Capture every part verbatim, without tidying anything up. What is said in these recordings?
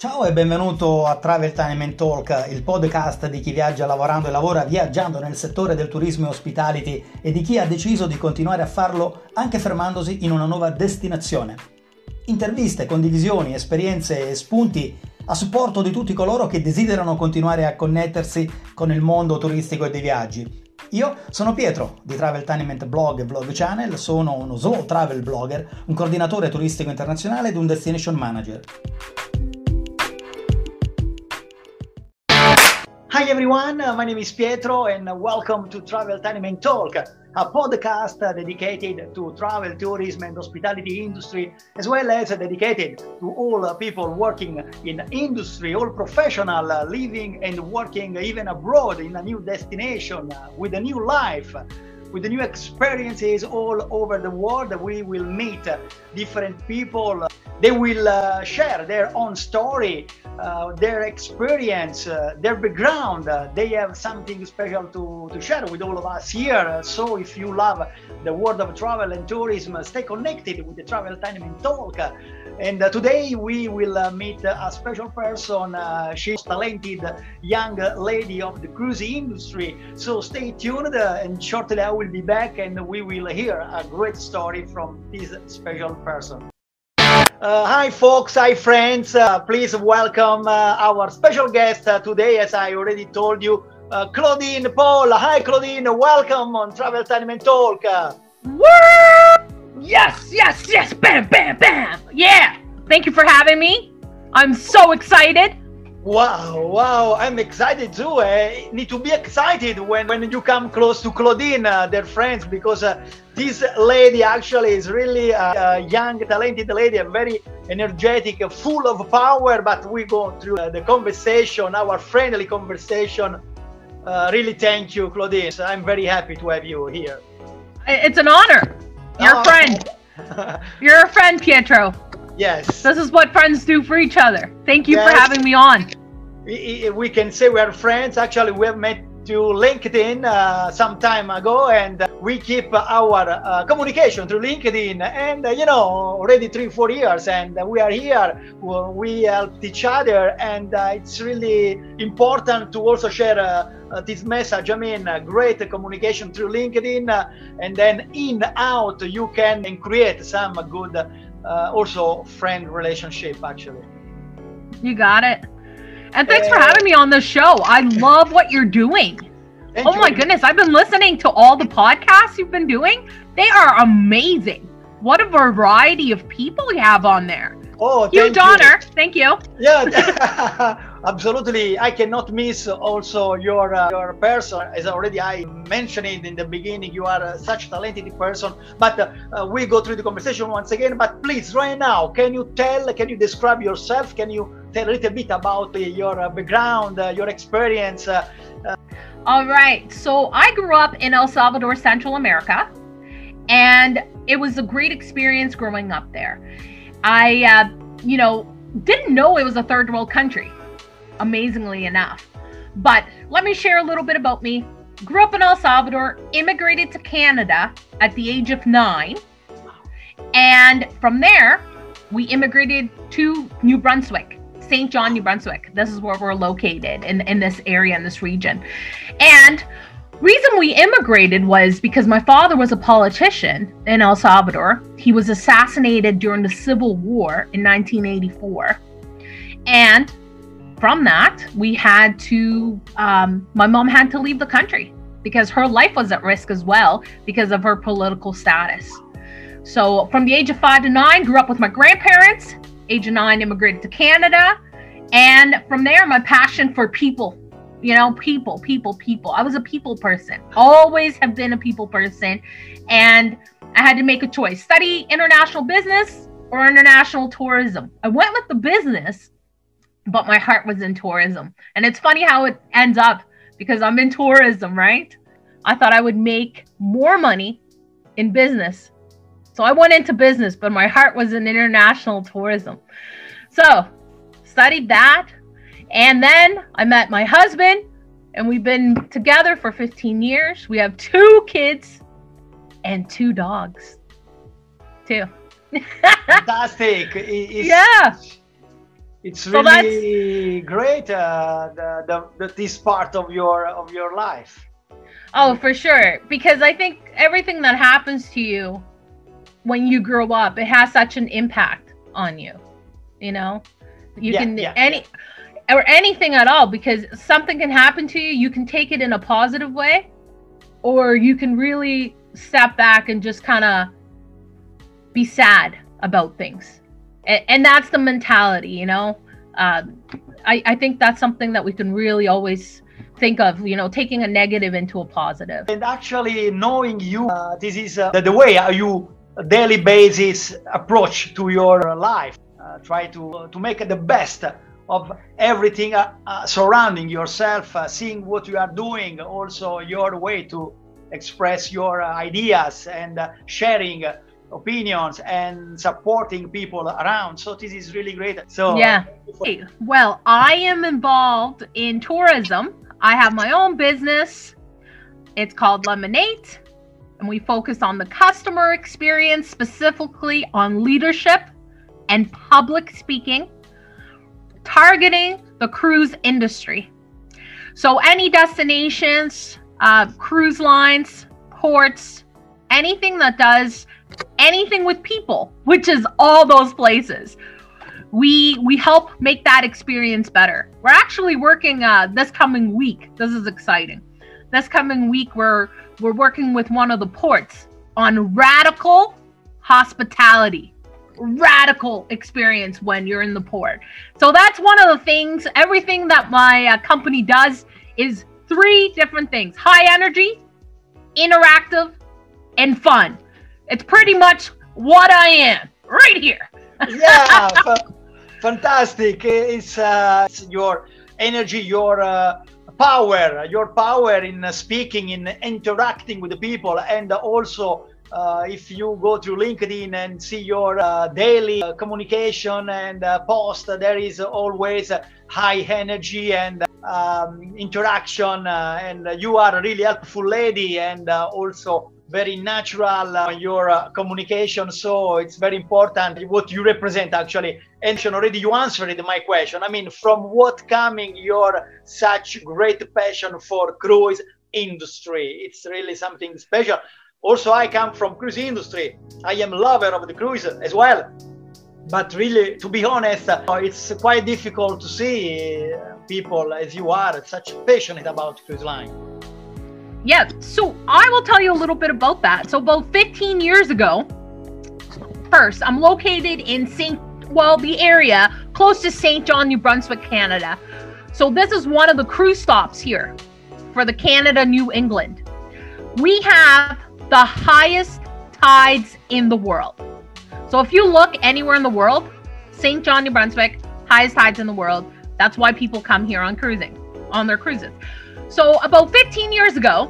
Ciao e benvenuto a Travel Time and Talk, il podcast di chi viaggia lavorando e lavora viaggiando nel settore del turismo e hospitality e di chi ha deciso di continuare a farlo anche fermandosi in una nuova destinazione. Interviste, condivisioni, esperienze e spunti a supporto di tutti coloro che desiderano continuare a connettersi con il mondo turistico e dei viaggi. Io sono Pietro di Travel Time and Blog e Blog Channel, sono uno slow travel blogger, un coordinatore turistico internazionale ed un destination manager. Hi everyone, my name is Pietro and welcome to Travel Time and Talk, a podcast dedicated to travel, tourism and hospitality industry, as well as dedicated to all people working in industry, all professional living and working even abroad in a new destination with a new life. With the new experiences all over the world. We will meet different people. They will uh, share their own story, uh, their experience, uh, their background. Uh, they have something special to, to share with all of us here. So if you love the world of travel and tourism, stay connected with the Travel Time and Talk. And uh, today we will uh, meet a special person. Uh, she's a talented young lady of the cruise industry. So stay tuned uh, and shortly I will be back and we will hear a great story from this special person. Uh, hi folks, hi friends, uh, please welcome uh, our special guest uh, today, as I already told you, uh, Claudine Paul. Hi Claudine, welcome on Travel Time and Talk. Woo! Yes, yes, yes, bam, bam, bam. Yeah, thank you for having me. I'm so excited. Wow, wow, I'm excited too. I need to be excited when, when you come close to Claudine, uh, their friends, because uh, this lady actually is really a, a young, talented lady, a very energetic, full of power, but we go through uh, the conversation, our friendly conversation. Uh, really thank you, Claudine. I'm very happy to have you here. It's an honor. You're oh. a friend. You're a friend, Pietro. Yes. This is what friends do for each other. Thank you yes. for having me on. We, we can say we are friends. Actually, we have met through LinkedIn uh, some time ago, and we keep our uh, communication through LinkedIn. And uh, you know, already three, four years, and we are here. We help each other, and uh, it's really important to also share uh, uh, this message. I mean, uh, great communication through LinkedIn, uh, and then in out you can create some good. Uh, also friend relationship actually. You got it. And thanks uh, for having me on the show. I love what you're doing. Oh my goodness, I've been listening to all the podcasts you've been doing. They are amazing. What a variety of people you have on there. Oh, huge honor. Thank you. Yeah, absolutely. I cannot miss also your uh, your person. As already I mentioned it in the beginning, you are uh, such a talented person. But uh, uh, we go through the conversation once again. But please, right now, can you tell? Can you describe yourself? Can you tell a little bit about uh, your uh, background, uh, your experience? Uh, uh... All right. So I grew up in El Salvador, Central America, and it was a great experience growing up there. I, uh, you know, didn't know it was a third world country, amazingly enough. But let me share a little bit about me. Grew up in El Salvador, immigrated to Canada at the age of nine. And from there, we immigrated to New Brunswick, Saint John, New Brunswick. This is where we're located in, in this area, in this region. And reason we immigrated was because my father was a politician in El Salvador. He was assassinated during the Civil War in nineteen eighty-four. And from that, we had to, um, my mom had to leave the country because her life was at risk as well because of her political status. So from the age of five to nine, grew up with my grandparents. Age of nine, immigrated to Canada. And from there, my passion for people. You know, people, people, people. I was a people person. Always have been a people person. And I had to make a choice. Study international business or international tourism. I went with the business, but my heart was in tourism. And it's funny how it ends up because I'm in tourism, right? I thought I would make more money in business. So I went into business, but my heart was in international tourism. So studied that. And then I met my husband, and we've been together for fifteen years. We have two kids and two dogs, too. Fantastic. It's, yeah. it's So really great, uh, the, the, the, this part of your of your life. Oh, for sure. Because I think everything that happens to you when you grow up, it has such an impact on you. You know, you Yeah, can yeah, any yeah. or anything at all, because something can happen to you. You can take it in a positive way, or you can really step back and just kind of be sad about things. And, and that's the mentality, you know. Uh, I, I think that's something that we can really always think of, you know, taking a negative into a positive. And actually knowing you, uh, this is uh, the, the way how you daily basis approach to your life. Uh, try to uh, to make the best of everything uh, uh, surrounding yourself, uh, seeing what you are doing, also your way to express your uh, ideas, and uh, sharing uh, opinions and supporting people around. So this is really great. So yeah. Uh, well, I am involved in tourism. I have my own business. It's called Lemonade, and we focus on the customer experience, specifically on leadership and public speaking, targeting the cruise industry. So any destinations, uh, cruise lines, ports, anything that does anything with people, which is all those places. We we help make that experience better. We're actually working uh, this coming week. This is exciting. This coming week, we're we're working with one of the ports on radical hospitality, radical experience when you're in the port. So that's one of the things. Everything that my uh, company does is three different things: high energy, interactive, and fun. It's pretty much what I am right here. Yeah, fantastic. It's, uh, it's your energy, your uh, power, your power in uh, speaking, in interacting with the people. And also, uh, if you go to LinkedIn and see your uh, daily uh, communication and uh, post, there is always uh, high energy and um, interaction. Uh, and you are a really helpful lady, and uh, also very natural uh, your uh, communication. So it's very important what you represent, actually. And already you answered my question. I mean, from what coming your such great passion for cruise industry? It's really something special. Also, I come from cruise industry. I am a lover of the cruise as well. But really, to be honest, uh, it's quite difficult to see uh, people as you are such passionate about cruise line. Yeah, so I will tell you a little bit about that. So about fifteen years ago, first, I'm located in Saint, well, the area close to Saint John, New Brunswick, Canada. So this is one of the cruise stops here for the Canada New England. We have the highest tides in the world. So if you look anywhere in the world, Saint John, New Brunswick, highest tides in the world. That's why people come here on cruising, on their cruises. So about fifteen years ago,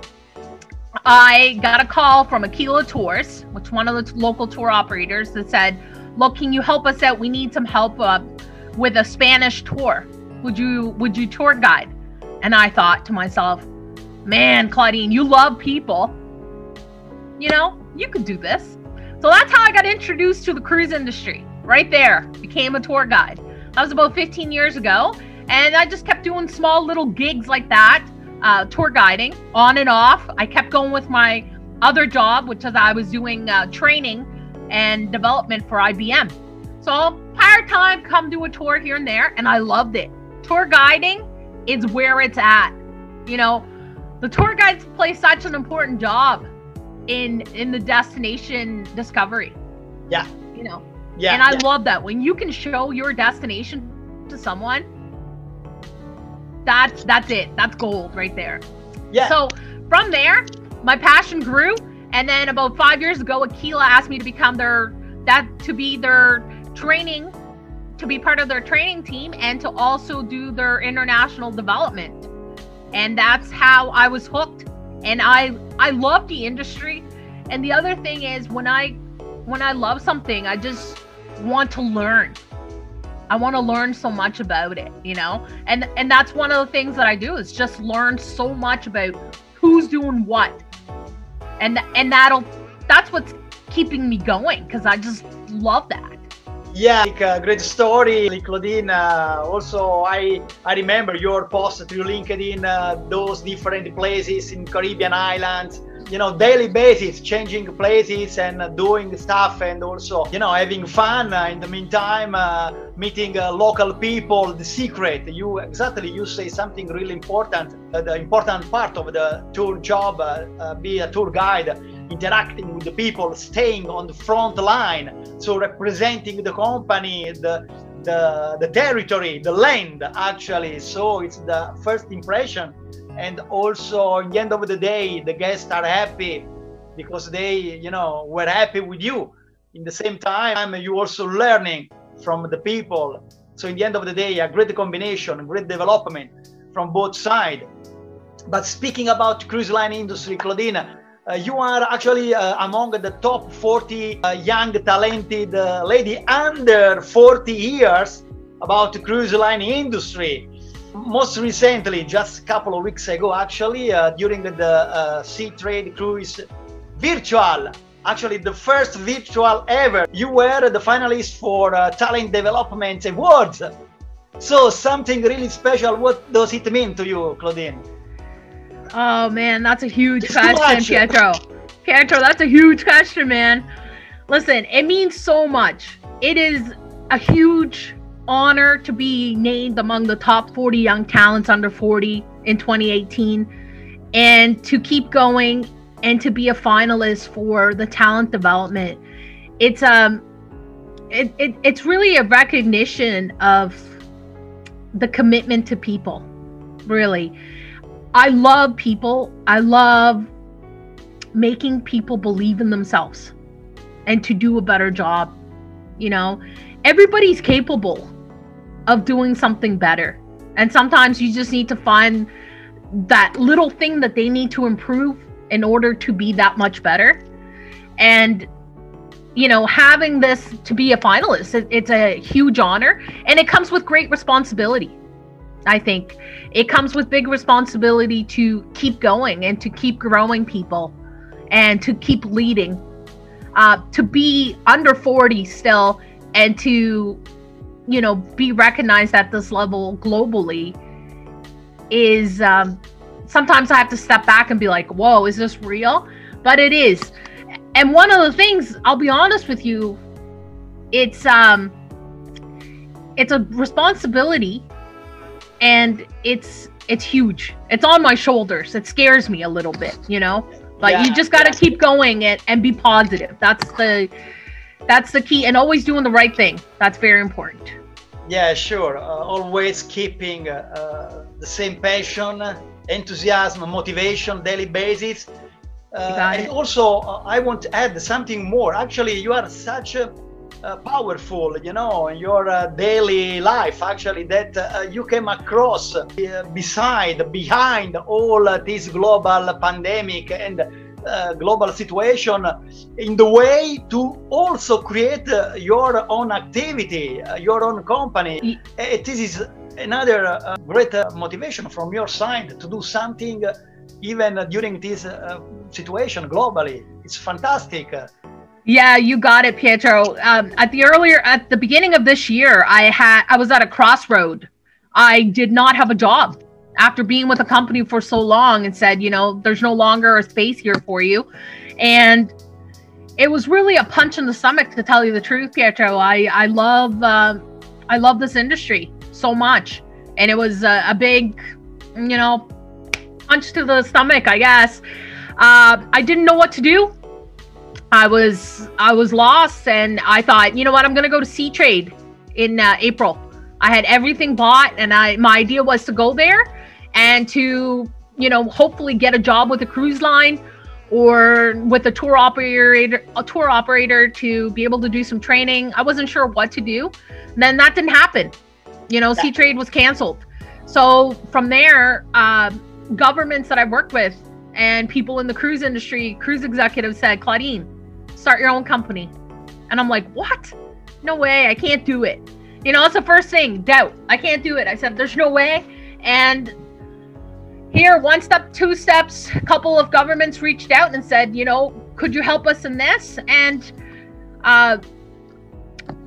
I got a call from Aquila Tours, which one of the local tour operators, that said, look, can you help us out? We need some help uh, with a Spanish tour. Would you, would you tour guide? And I thought to myself, man, Claudine, you love people. You know, you could do this. So that's how I got introduced to the cruise industry. Right there, became a tour guide. That was about fifteen years ago. And I just kept doing small little gigs like that. Uh, tour guiding on and off. I kept going with my other job, which is I was doing uh, training and development for I B M. So part time, come do a tour here and there, and I loved it. Tour guiding is where it's at. You know, the tour guides play such an important job in in the destination discovery. Yeah. You know. Yeah. And I yeah. love that when you can show your destination to someone. That's that's it. That's gold right there. Yeah. So from there, my passion grew, and then about five years ago, Aquila asked me to become their that to be their training, to be part of their training team, and to also do their international development. And that's how I was hooked. And I I love the industry. And the other thing is, when I when I love something, I just want to learn. I want to learn so much about it, you know, and and that's one of the things that I do is just learn so much about who's doing what, and and that'll that's what's keeping me going, because I just love that. Yeah, like, uh, great story, like, Claudine. Uh, also, I I remember your post through LinkedIn, uh, those different places in Caribbean islands. You know, daily basis, changing places and uh, doing stuff, and also, you know, having fun. Uh, in the meantime, uh, meeting uh, local people. The secret, you exactly, you say something really important. Uh, the important part of the tour job, uh, uh, be a tour guide, interacting with the people, staying on the front line, so representing the company, the the the territory, the land, actually. So it's the first impression, and also at the end of the day, the guests are happy because they, you know, were happy with you. In the same time, you also learning from the people. So in the end of the day, a great combination, great development from both sides. But speaking about cruise line industry, Claudine, Uh, you are actually uh, among the top forty uh, young talented uh, lady under forty years about the cruise line industry. Most recently, just a couple of weeks ago, actually, uh, during the uh, Seatrade Cruise Virtual, actually the first virtual ever, you were the finalist for uh, Talent Development Awards. So something really special. What does it mean to you, Claudine? Oh man, that's a huge question, Pietro. Pietro, that's a huge question, man. Listen, it means so much. It is a huge honor to be named among the top forty young talents under forty in twenty eighteen, and to keep going and to be a finalist for the talent development. It's um, it, it it's really a recognition of the commitment to people, really. I love people. I love making people believe in themselves and to do a better job. You know, everybody's capable of doing something better. And sometimes you just need to find that little thing that they need to improve in order to be that much better. And, you know, having this to be a finalist, it, it's a huge honor, and it comes with great responsibility. I think it comes with big responsibility to keep going and to keep growing people and to keep leading, uh, to be under forty still, and to, you know, be recognized at this level globally is, um, sometimes I have to step back and be like, whoa, is this real? But it is. And one of the things, I'll be honest with you, it's, um, it's a responsibility. And it's it's huge. It's on my shoulders. It scares me a little bit, you know. But yeah, you just got to yeah. keep going and, and be positive. That's the that's the key, and always doing the right thing. That's very important. Yeah, sure. Uh, always keeping uh, uh, the same passion, enthusiasm, motivation, daily basis. Uh, and also, uh, I want to add something more. Actually, you are such a Uh, powerful, you know, in your uh, daily life, actually, that uh, you came across uh, beside, behind all uh, this global pandemic and uh, global situation, in the way to also create uh, your own activity, uh, your own company. Uh, this is another uh, great uh, motivation from your side to do something uh, even uh, during this uh, situation globally. It's fantastic. Yeah, you got it, Pietro. Um, at the earlier, at the beginning of this year, I had, I was at a crossroad. I did not have a job after being with a company for so long, and said, you know, there's no longer a space here for you. And it was really a punch in the stomach, to tell you the truth, Pietro. I, I love, uh, I love this industry so much. And it was a, a big, you know, punch to the stomach, I guess. Uh, I didn't know what to do. I was I was lost, and I thought, you know what, I'm gonna go to Seatrade in uh, April. I had everything bought, and I my idea was to go there and to, you know, hopefully get a job with a cruise line or with a tour operator, a tour operator to be able to do some training. I wasn't sure what to do. And then that didn't happen. You know, Seatrade was canceled. So from there, uh, governments that I worked with and people in the cruise industry, cruise executives said, Claudine, start your own company. And I'm like, what? No way, I can't do it. You know, it's the first thing, doubt. I can't do it. I said, there's no way. And here, one step, two steps, a couple of governments reached out and said, you know, could you help us in this? And uh,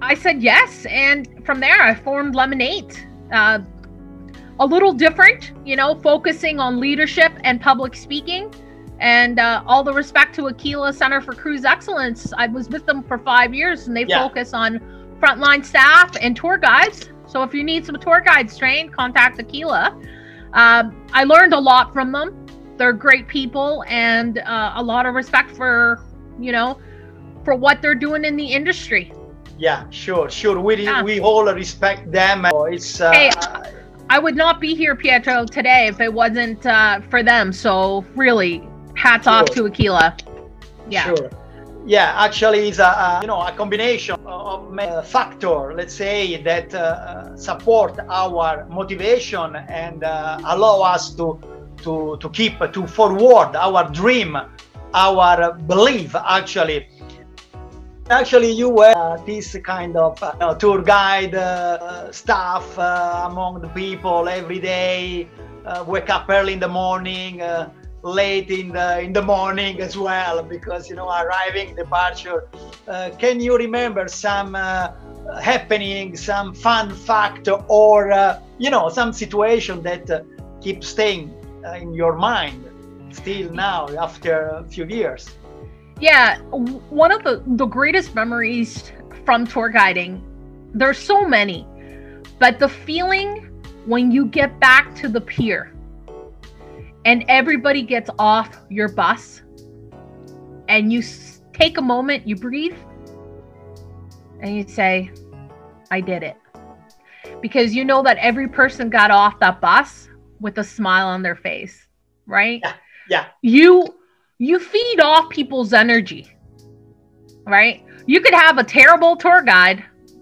I said yes, and from there I formed Lemonade. Uh, a little different, you know, focusing on leadership and public speaking. And uh, all the respect to Aquila Center for Cruise Excellence. I was with them for five years, and they yeah. focus on frontline staff and tour guides. So if you need some tour guides trained, contact Aquila. Uh, I learned a lot from them. They're great people, and uh, a lot of respect for, you know, for what they're doing in the industry. Yeah, sure, sure. We yeah. we all respect them. It's uh, hey, I would not be here, Pietro, today if it wasn't uh, for them. So really, hats sure. off to Aquila. Yeah. Sure. Yeah, actually, it's a, a you know a combination of uh, factor, let's say, that uh, support our motivation and uh, allow us to to to keep to forward our dream, our belief. Actually, actually, you were uh, this kind of uh, you know, tour guide uh, staff uh, among the people every day. Uh, wake up early in the morning. Uh, late in the in the morning as well, because you know arriving, departure. Uh, can you remember some uh, happening, some fun fact, or uh, you know some situation that uh, keeps staying uh, in your mind still now after a few years? Yeah, one of the the greatest memories from tour guiding, there's so many, but the feeling when you get back to the pier and everybody gets off your bus and you s- take a moment, you breathe, and you say, I did it. Because you know that every person got off that bus with a smile on their face, right? Yeah, yeah. You, you feed off people's energy, right? You could have a terrible tour guide,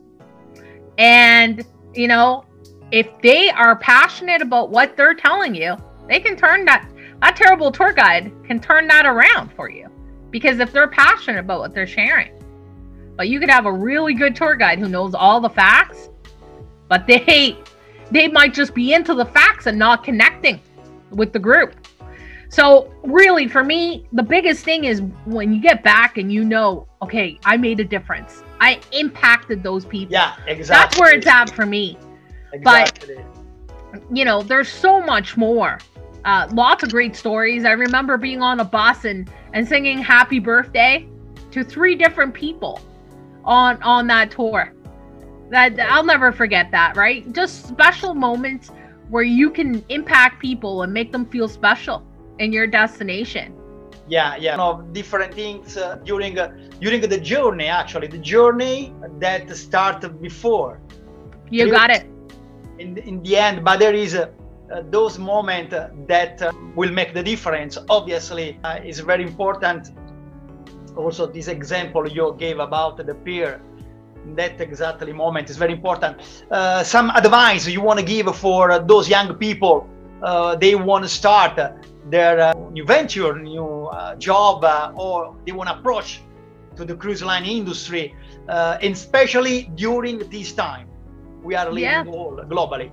and, you know, if they are passionate about what they're telling you, they can turn that, that terrible tour guide can turn that around for you, because if they're passionate about what they're sharing. But you could have a really good tour guide who knows all the facts, but they, they might just be into the facts and not connecting with the group. So really, for me, the biggest thing is when you get back and you know, okay, I made a difference. I impacted those people. Yeah, exactly. That's where it's at for me. Exactly. But, you know, there's so much more. Uh, lots of great stories. I remember being on a bus and, and singing happy birthday to three different people on, on that tour. That I'll never forget that, right? Just special moments where you can impact people and make them feel special in your destination. Yeah, yeah. You know, different things uh, during uh, during the journey. Actually, the journey that started before. You got it. In in the end, but there is uh, uh, those moments uh, that uh, will make the difference. Obviously, uh, is very important. Also, this example you gave about the peer, that exactly moment is very important. Uh, some advice you want to give for uh, those young people? Uh, they want to start uh, their uh, new venture, new uh, job, uh, or they want to approach to the cruise line industry, uh, and especially during this time we are living yeah. all globally.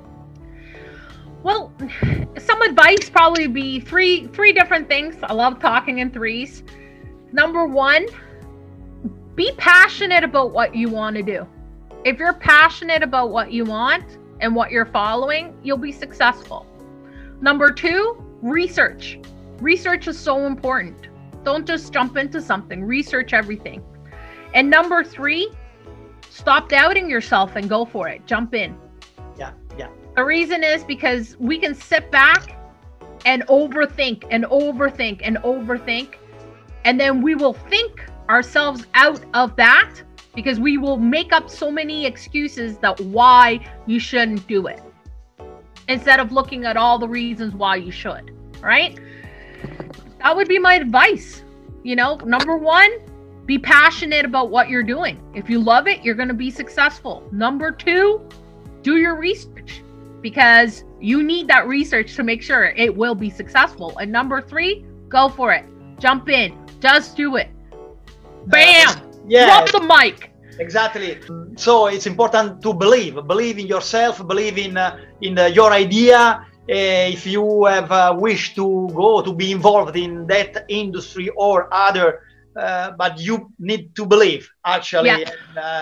Well, some advice probably be three three different things. I love talking in threes. Number one, be passionate about what you want to do. If you're passionate about what you want and what you're following, you'll be successful. Number two, research. Research is so important. Don't just jump into something. Research everything. And number three, stop doubting yourself and go for it. Jump in. Yeah, yeah. The reason is because we can sit back and overthink and overthink and overthink, and then we will think ourselves out of that because we will make up so many excuses that why you shouldn't do it, instead of looking at all the reasons why you should, right? That would be my advice. You know, number one, be passionate about what you're doing. If you love it, you're going to be successful. Number two, do your research, because you need that research to make sure it will be successful. And number three, go for it. Jump in. Just do it. Bam! Uh, yeah. Drop the mic. Exactly. So it's important to believe, believe in yourself, believe in uh, in uh, your idea. Uh, if you have a wish to go to be involved in that industry or other, uh, but you need to believe actually. Yeah. And, uh,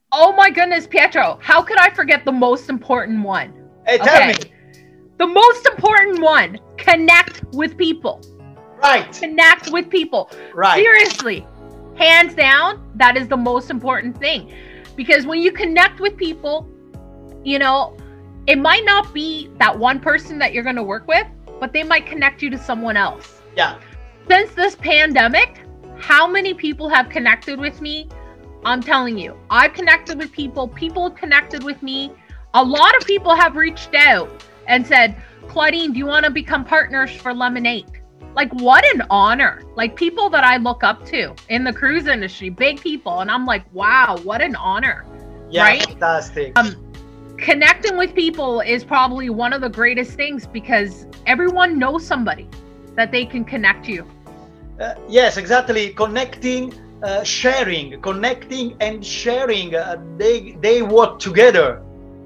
Oh my goodness, Pietro, how could I forget the most important one? Hey, tell Okay. me. The most important one, connect with people. Right. Connect with people. Right. Seriously, hands down, that is the most important thing. Because when you connect with people, you know, it might not be that one person that you're going to work with, but they might connect you to someone else. Yeah. Since this pandemic, how many people have connected with me? I'm telling you, I've connected with people, people have connected with me. A lot of people have reached out and said, Claudine, do you want to become partners for Lemonade? Like, what an honor. Like, people that I look up to in the cruise industry, big people. And I'm like, wow, what an honor. Yeah, right? Fantastic. Um, connecting with people is probably one of the greatest things because everyone knows somebody that they can connect you. Uh, yes, exactly. Connecting, uh, sharing, connecting and sharing. Uh, they they work together.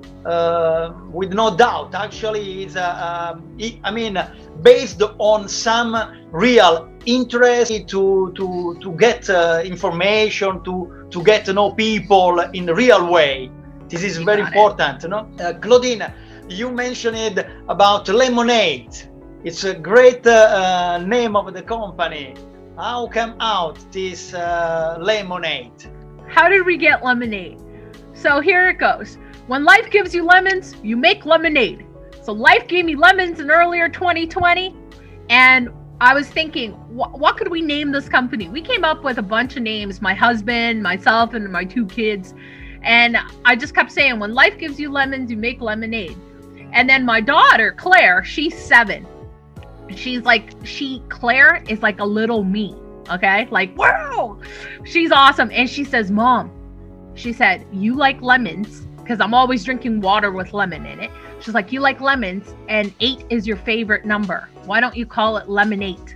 Uh, with no doubt, actually, is uh, um, I mean, based on some real interest to to to get uh, information, to to get to know people in a real way. This is You very got it. important, no? Uh, Claudine, you mentioned about Lemonade. It's a great uh, uh, name of the company. How came out this uh, Lemonade? How did we get Lemonade? So here it goes. When life gives you lemons, you make lemonade. So life gave me lemons in earlier twenty twenty, and I was thinking, wh what could we name this company? We came up with a bunch of names, my husband, myself, and my two kids. And I just kept saying, when life gives you lemons, you make lemonade. And then my daughter, Claire, she's seven. She's like, she, Claire is like a little me, okay? Like, wow, she's awesome. And she says, Mom, she said, you like lemons, because I'm always drinking water with lemon in it. She's like, you like lemons, and eight is your favorite number. Why don't you call it Lemonade?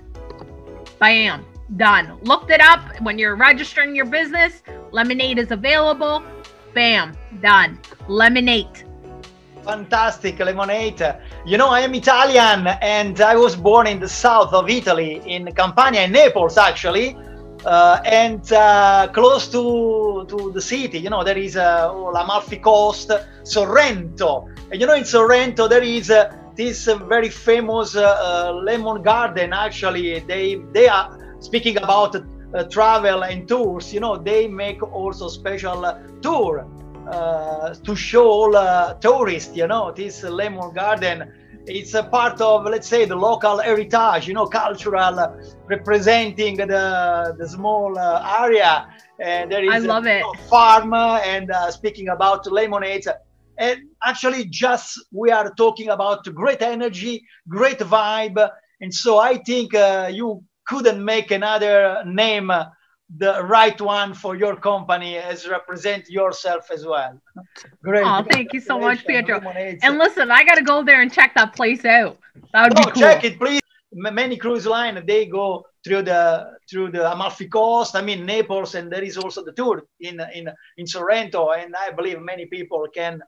Bam, done. Looked it up. When you're registering your business, Lemonade is available. Bam, done. Lemonade. Fantastic, Lemonade. You know, I am Italian and I was born in the south of Italy, in Campania, in Naples, actually. Uh, and uh, close to to the city, you know, there is uh, l'Amalfi Coast, Sorrento. And you know, in Sorrento there is uh, this uh, very famous uh, uh, lemon garden. Actually, they they are speaking about uh, travel and tours. You know, they make also special uh, tour uh, to show all uh, tourists. You know, this lemon garden. It's a part of, let's say, the local heritage, you know, cultural, uh, representing the the small uh, area. And there is I love a, it. a farm, uh, and uh, speaking about lemonades. And actually, just we are talking about great energy, great vibe. And so I think uh, you couldn't make another name, uh, the right one for your company, as represent yourself as well. Great. Oh, thank you so much, Pietro. Lemonades. And listen, I got to go there and check that place out. That would No, be cool. check it, please. M- Many cruise line, they go through the through the Amalfi Coast. I mean Naples, and there is also the tour in in in Sorrento. And I believe many people can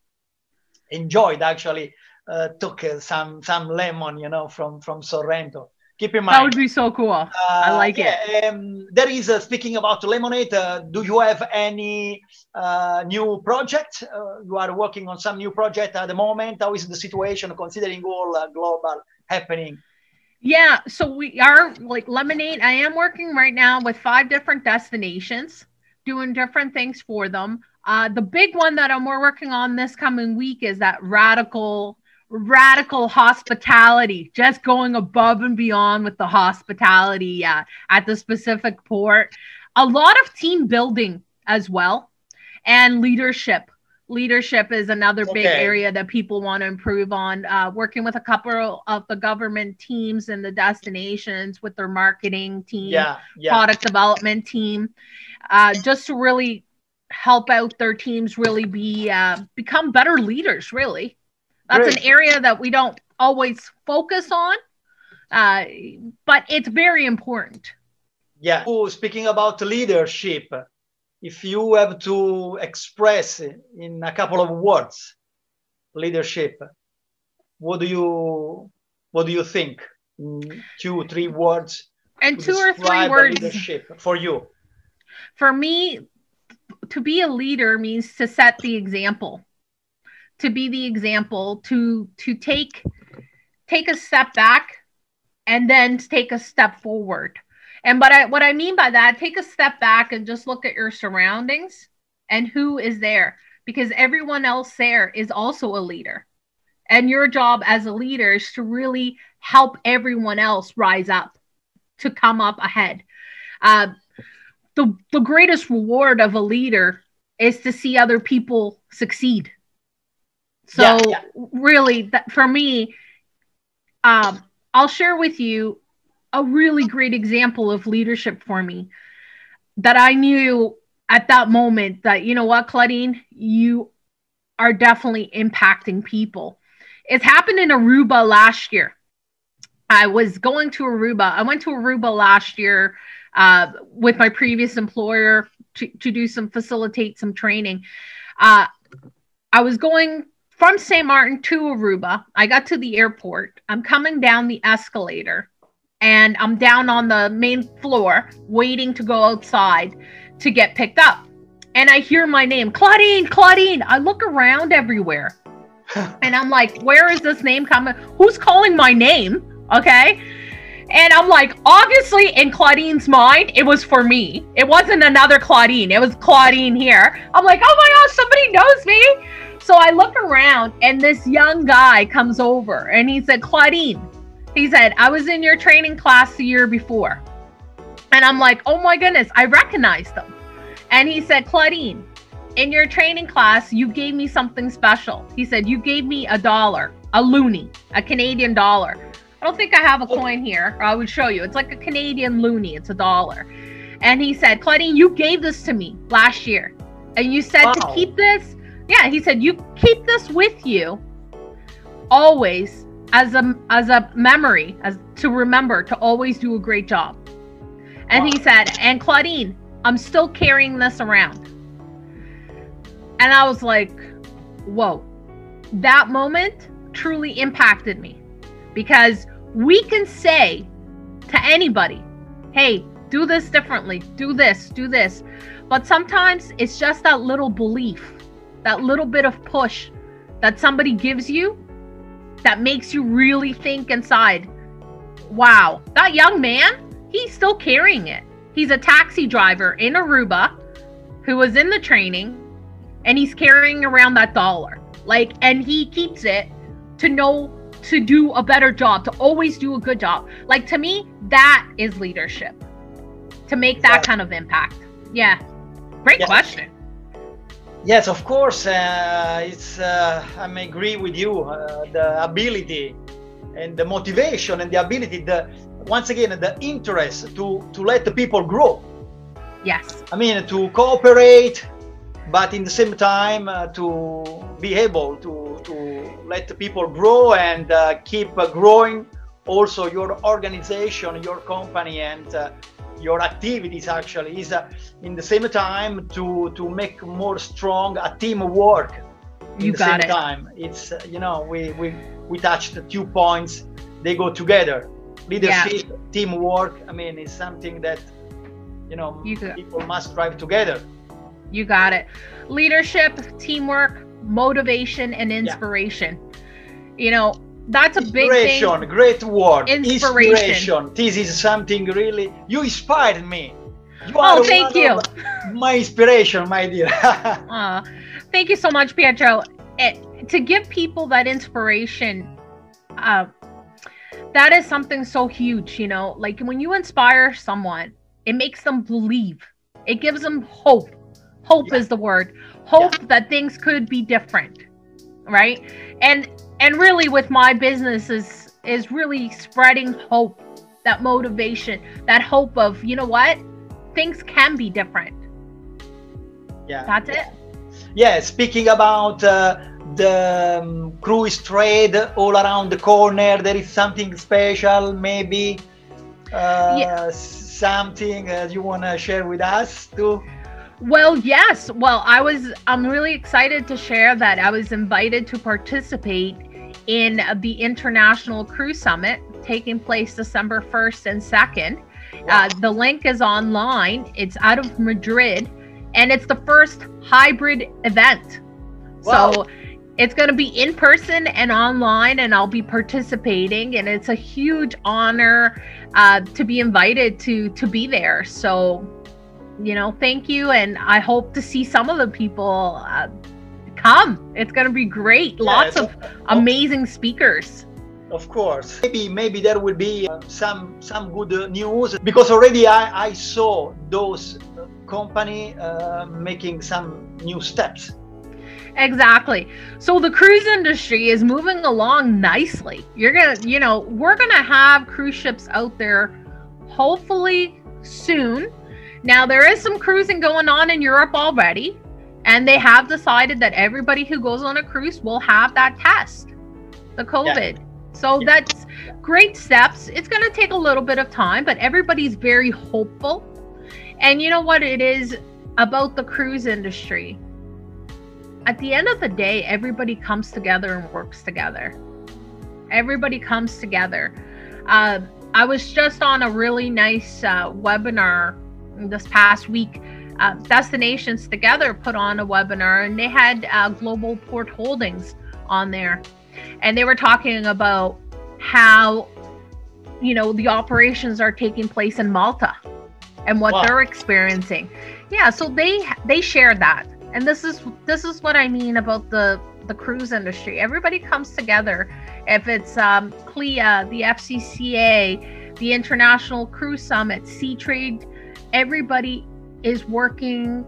enjoy it. Actually, uh, took uh, some some lemon, you know, from from Sorrento. Keep in mind. That would be so cool. Uh, I like yeah, it. Um, there is, uh, speaking about Lemonade, uh, do you have any uh, new project? Uh, you are working on some new project at the moment. How is the situation considering all uh, global happening? Yeah, so we are like Lemonade. I am working right now with five different destinations, doing different things for them. Uh, the big one that I'm we're working on this coming week is that radical radical hospitality, just going above and beyond with the hospitality uh, at the specific port. A lot of team building as well, and leadership. Leadership is another big Okay. area that people want to improve on. Uh, working with a couple of the government teams and the destinations with their marketing team, Yeah, yeah. product development team, uh, just to really help out their teams really be uh, become better leaders. Really, that's Great. an area that we don't always focus on, uh, but it's very important. Yeah. Oh, speaking about leadership, if you have to express in a couple of words leadership, what do you what do you think? Mm, Two, three words And to two or three describe words leadership for you. for me. to be a leader means to set the example, to be the example, to to take take a step back and then take a step forward. And but I what I mean by that, take a step back and just look at your surroundings and who is there, because everyone else there is also a leader. And your job as a leader is to really help everyone else rise up, to come up ahead. Uh, the, the greatest reward of a leader is to see other people succeed. So yeah, yeah. really, that, for me, um, I'll share with you a really great example of leadership for me that I knew at that moment that, you know what, Claudine, you are definitely impacting people. It's happened in Aruba last year. I was going to Aruba. I went to Aruba last year uh, with my previous employer to, to do some, facilitate some training. Uh, I was going from Saint Martin to Aruba. I got to the airport. I'm coming down the escalator and I'm down on the main floor waiting to go outside to get picked up. And I hear my name, Claudine, Claudine. I look around everywhere and I'm like, where is this name coming? Who's calling my name? Okay. And I'm like, obviously in Claudine's mind, it was for me. It wasn't another Claudine. It was Claudine here. I'm like, oh my gosh, somebody knows me. So I look around and this young guy comes over and he said, Claudine, he said, I was in your training class the year before. And I'm like, oh my goodness, I recognized him. And he said, Claudine, in your training class, you gave me something special. He said, you gave me a dollar, a loonie, a Canadian dollar. I don't think I have a coin here. I would show you. It's like a Canadian loonie. It's a dollar. And he said, Claudine, you gave this to me last year. And you said wow. to keep this. Yeah, he said, you keep this with you always as a, as a memory, as to remember to always do a great job. And wow. he said, and Claudine, I'm still carrying this around. And I was like, whoa, that moment truly impacted me. Because we can say to anybody, hey, do this differently, do this, do this. But sometimes it's just that little belief, that little bit of push that somebody gives you that makes you really think inside, wow, that young man, he's still carrying it. He's a taxi driver in Aruba who was in the training and he's carrying around that dollar. Like, and he keeps it to know to do a better job, to always do a good job. Like, to me, that is leadership, to make that kind of impact. Yeah. Great yes. question. Yes, of course. Uh, it's, uh, I agree with you. Uh, the ability and the motivation and the ability, the, once again, the interest to, to let the people grow. Yes. I mean, to cooperate, but in the same time, uh, to be able to, to let the people grow and uh, keep uh, growing also your organization, your company, and uh, your activities actually is uh, in the same time to to make more strong a teamwork. In you the got same it. time, it's uh, you know we we we touched the two points. They go together. Leadership, yeah. teamwork. I mean, it's something that you know you people must strive together. You got it. Leadership, teamwork, motivation, and inspiration. Yeah. You know, that's a big thing. Inspiration, great word. Inspiration. Inspiration. This is something really, you inspired me. You oh, thank you. My inspiration, my dear. uh, thank you so much, Pietro. It, to give people that inspiration, uh, that is something so huge, you know, like when you inspire someone, it makes them believe. It gives them hope. Hope yeah. is the word. Hope yeah. that things could be different, right? And and really with my business is is really spreading hope, that motivation, that hope of, you know what? Things can be different. Yeah. That's it. Yeah, speaking about uh, the um, cruise trade all around the corner, there is something special, maybe uh, yeah. something uh, you want to share with us too? Well, yes. Well, I was, I'm really excited to share that I was invited to participate in the International Cruise Summit taking place December first and second. Wow. Uh, the link is online. It's out of Madrid. and it's the first hybrid event. Wow. So it's going to be in person and online, and I'll be participating, and it's a huge honor uh, to be invited to to be there. So, you know, thank you, and I hope to see some of the people uh, come. It's going to be great. Yes. Lots of amazing speakers. Of course. Maybe maybe there will be uh, some some good uh, news, because already I, I saw those uh, company uh, making some new steps. Exactly. So the cruise industry is moving along nicely. You're gonna, you know, we're gonna have cruise ships out there hopefully soon. Now there is some cruising going on in Europe already, and they have decided that everybody who goes on a cruise will have that test, the COVID. Yeah. So yeah. That's great steps. It's gonna take a little bit of time, but everybody's very hopeful. And you know what it is about the cruise industry? At the end of the day, everybody comes together and works together. Everybody comes together. Uh, I was just on a really nice uh, webinar this past week. Uh, Destinations Together put on a webinar, and they had uh, Global Port Holdings on there. And they were talking about how, you know, the operations are taking place in Malta and what wow. they're experiencing. Yeah, so they they shared that. And this is this is what I mean about the the cruise industry. Everybody comes together. If it's um, C L I A, the F C C A, the International Cruise Summit, Seatrade, everybody is working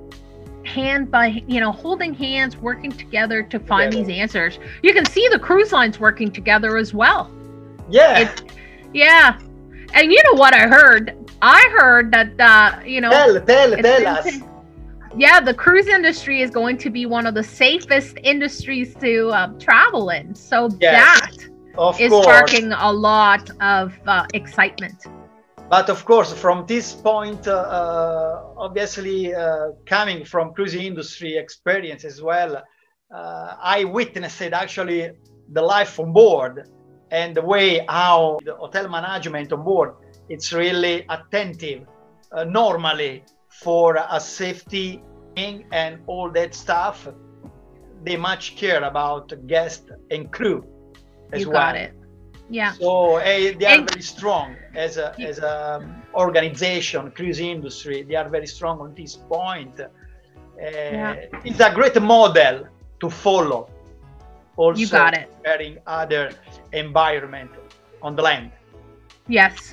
hand by, you know, holding hands, working together to find yeah. these answers. You can see the cruise lines working together as well. Yeah. It, yeah. And you know what I heard? I heard that, uh, you know. Tell, tell, tell us. Yeah, the cruise industry is going to be one of the safest industries to uh, travel in. So yes, that of is course. sparking a lot of uh, excitement. But of course, from this point, uh, obviously uh, coming from cruise industry experience as well, uh, I witnessed actually the life on board and the way how the hotel management on board, it's really attentive uh, normally for a safety and all that stuff. They much care about guest and crew as you well. Got it. Yeah. So uh, they are and, very strong as a as a organization, cruise industry. They are very strong on this point. Uh, yeah. It's a great model to follow. Also, you got it. Comparing other environment on the land. Yes.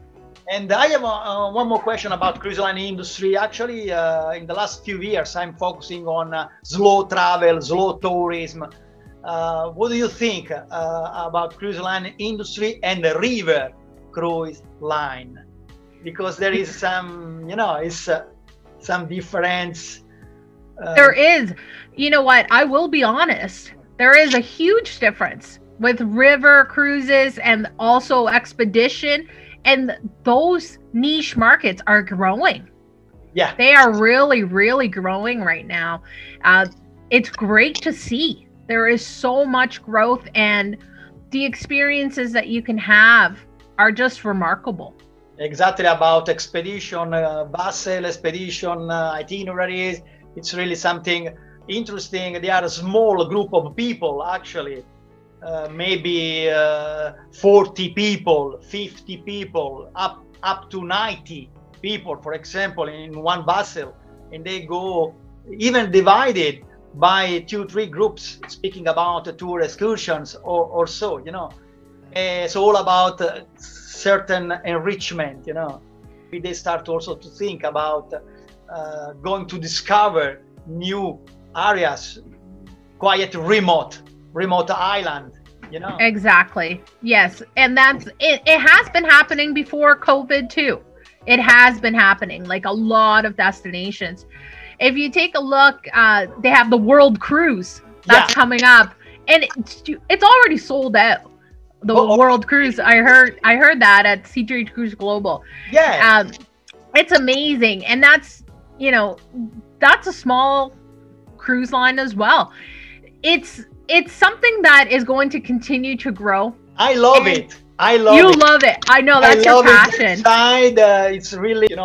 And I have uh, one more question about cruise line industry. Actually, uh, in the last few years, I'm focusing on uh, slow travel, slow tourism. Uh, what do you think uh, about cruise line industry and the river cruise line? Because there is some, you know, it's uh, some difference. Uh, there is. You know what? I will be honest. There is a huge difference with river cruises and also expedition. And those niche markets are growing. Yeah. They are really, really growing right now. Uh, it's great to see. There is so much growth, and the experiences that you can have are just remarkable. Exactly, about expedition, uh, vessel expedition, uh, itineraries. It's really something interesting. They are a small group of people, actually. Uh, maybe uh, forty people, fifty people, up up to ninety people, for example, in one vessel, and they go even divided by two, three groups, speaking about uh, tour excursions or, or so, you know. Uh, it's all about uh, certain enrichment, you know. They start also to think about uh, going to discover new areas, quite remote. remote island, you know. Exactly. Yes. And that's it. It has been happening before COVID too. It has been happening, like a lot of destinations. If you take a look, uh, they have the World Cruise that's yeah. coming up, and it's, it's already sold out. The oh, World Cruise. I heard. I heard that at Seatrade Cruise Global. Yeah. Um, it's amazing, and that's you know, that's a small cruise line as well. It's it's something that is going to continue to grow. I love and it. I love you it. You love it. I know that's I your love passion. It inside, uh, it's really, you know,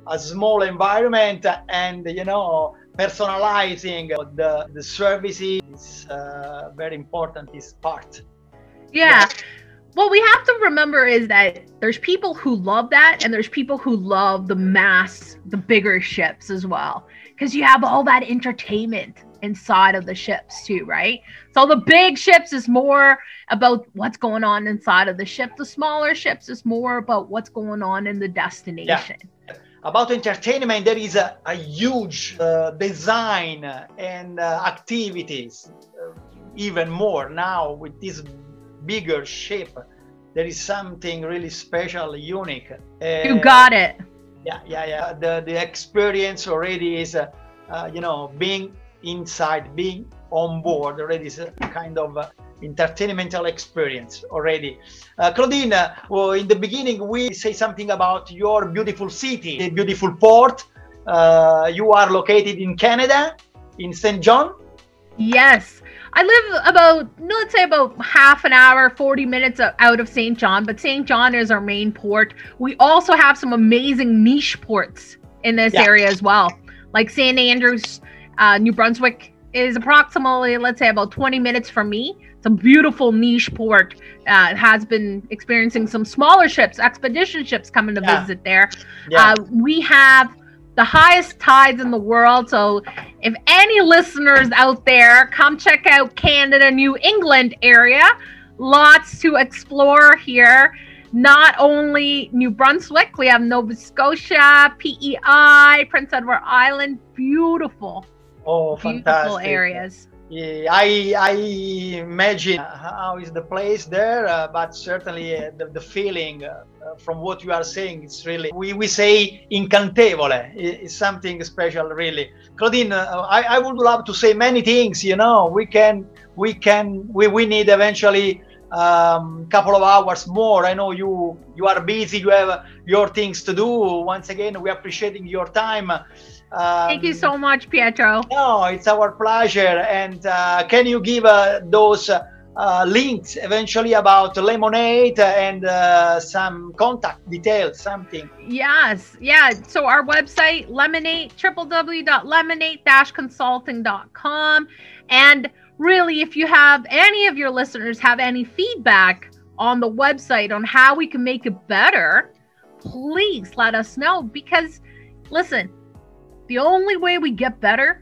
a small environment, and you know, personalizing the the services is uh, very important. This part. Yeah. What we have to remember is that there's people who love that, and there's people who love the mass, the bigger ships as well, because you have all that entertainment inside of the ships too, right? So the big ships is more about what's going on inside of the ship. The smaller ships is more about what's going on in the destination. Yeah. About entertainment, there is a, a huge uh, design and uh, activities, uh, even more now with this bigger ship. There is something really special, unique. Uh, you got it. Yeah, yeah, yeah. The the experience already is, uh, uh, you know, being inside, being on board already is a kind of uh, entertainmental experience already. Uh, Claudine, uh, well, in the beginning we say something about your beautiful city, the beautiful port. Uh, you are located in Canada, in Saint John. Yes. I live about, let's say about half an hour, forty minutes out of Saint John, but Saint John is our main port. We also have some amazing niche ports in this yeah. area as well. Like Saint Andrews, uh, New Brunswick is approximately, let's say about twenty minutes from me. It's a beautiful niche port. Uh, it has been experiencing some smaller ships, expedition ships coming to yeah. visit there. Yeah. Uh, we have the highest tides in the world. So if any listeners out there, come check out Canada, New England area. Lots to explore here. Not only New Brunswick, we have Nova Scotia, P E I, Prince Edward Island. Beautiful. Oh, beautiful fantastic. areas. Yeah, I, I imagine how is the place there, uh, but certainly uh, the, the feeling uh, from what you are saying, it's really, we, we say incantevole, it's something special, really. Claudine, uh, I, I would love to say many things, you know, we can, we can, we, we need eventually a um, couple of hours more. I know you, you are busy, you have your things to do. Once again, we are appreciating your time. Um, Thank you so much, Pietro. No, it's our pleasure. And uh, can you give uh, those uh, links eventually about Lemonade and uh, some contact details, something? Yes, yeah. So our website, Lemonade, w w w dot lemonade dash consulting dot com. And really, if you have any of your listeners have any feedback on the website on how we can make it better, please let us know. Because, listen, the only way we get better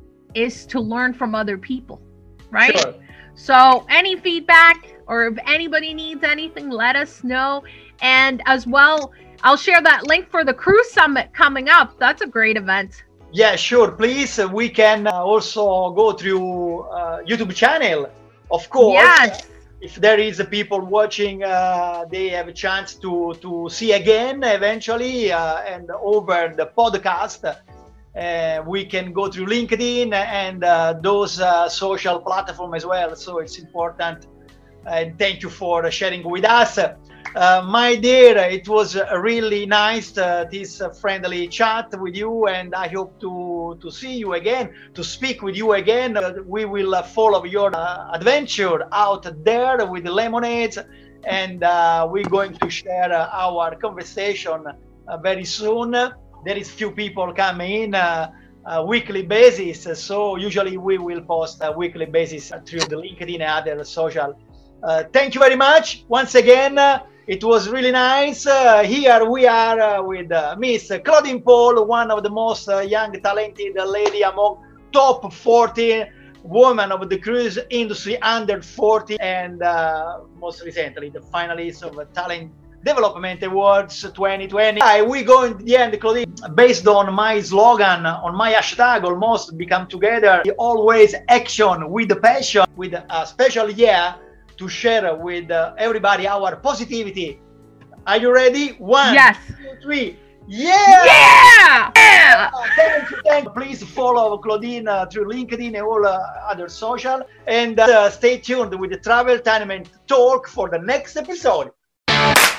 is to learn from other people, right? Sure. So any feedback, or if anybody needs anything, let us know. And as well, I'll share that link for the cruise summit coming up. That's a great event. Yeah, sure. Please, uh, we can uh, also go through uh, YouTube channel, of course. Yes. If there is a people watching, uh, they have a chance to to see again eventually, uh, and over the podcast. Uh, we can go through LinkedIn and uh, those uh, social platforms as well. So it's important. And thank you for sharing with us. Uh, my dear, it was really nice, uh, this uh, friendly chat with you, and I hope to, to see you again, to speak with you again. Uh, we will uh, follow your uh, adventure out there with the Lemonades, and uh, we're going to share uh, our conversation uh, very soon. There is few people coming in uh, a weekly basis, so usually we will post a weekly basis through the LinkedIn and other social. Uh, thank you very much once again. Uh, it was really nice. Uh, here we are uh, with uh, Miss Claudine Paul, one of the most uh, young, talented lady among top forty women of the cruise industry under forty, and uh, most recently the finalist of a Talent Development Awards twenty twenty. We go in the end, Claudine, based on my slogan, on my hashtag, almost become together, always action with the passion, with a special year to share with uh, everybody our positivity. Are you ready? One, yes. two, three. Yeah! Yeah! Yeah! Uh, thank you, thank you. Please follow Claudine uh, through LinkedIn and all uh, other social. And uh, stay tuned with the Travel Tiny Men Talk for the next episode.